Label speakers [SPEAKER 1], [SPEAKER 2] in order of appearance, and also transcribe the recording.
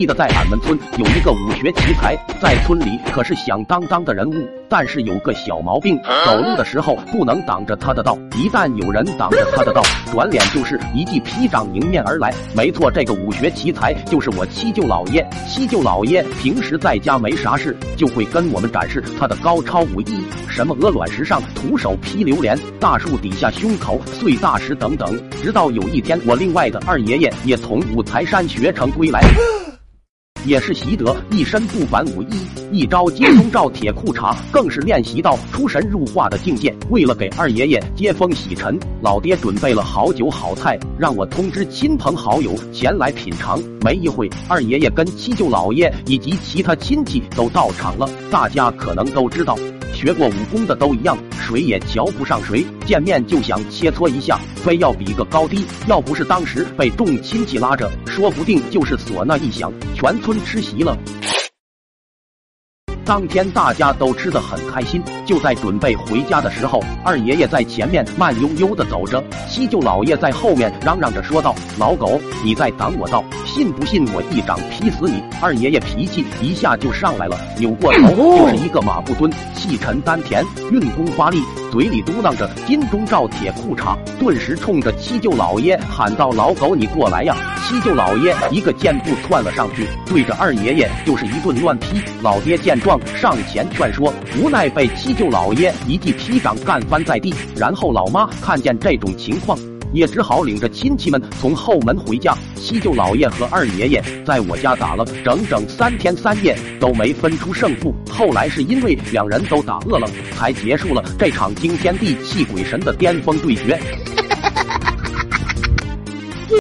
[SPEAKER 1] 记得在俺们村有一个武学奇才，在村里可是响当当的人物，但是有个小毛病，走路的时候不能挡着他的道，一旦有人挡着他的道，转脸就是一记劈掌迎面而来。没错，这个武学奇才就是我七舅老爷。七舅老爷平时在家没啥事，就会跟我们展示他的高超武艺，什么鹅卵石上徒手劈榴莲，大树底下胸口碎大石等等。直到有一天，我另外的二爷爷也从五台山学成归来，也是习得一身不凡武艺，一招接风罩铁裤衩，更是练习到出神入化的境界。为了给二爷爷接风洗尘，老爹准备了好酒好菜，让我通知亲朋好友前来品尝。没一会，二爷爷跟七舅老爷以及其他亲戚都到场了。大家可能都知道，学过武功的都一样，谁也瞧不上谁，见面就想切磋一下，非要比个高低。要不是当时被众亲戚拉着，说不定就是唢呐一响，全村吃席了。当天大家都吃得很开心，就在准备回家的时候，二爷爷在前面慢悠悠地走着，七舅老爷在后面嚷嚷着说道：“老狗，你在挡我道，信不信我一掌劈死你？”二爷爷脾气一下就上来了，扭过头就是一个马步蹲，气沉丹田，运功发力，嘴里嘟囔着金钟罩铁裤衩，顿时冲着七舅老爷喊道：“老狗，你过来呀！”七舅老爷一个箭步窜了上去，对着二爷爷就是一顿乱劈。老爹见状上前劝说，无奈被七舅老爷一记劈掌干翻在地。然后老妈看见这种情况，也只好领着亲戚们从后门回家。七舅老爷和二爷爷在我家打了整整3天3夜，都没分出胜负。后来是因为两人都打饿了，才结束了这场惊天地泣鬼神的巅峰对决。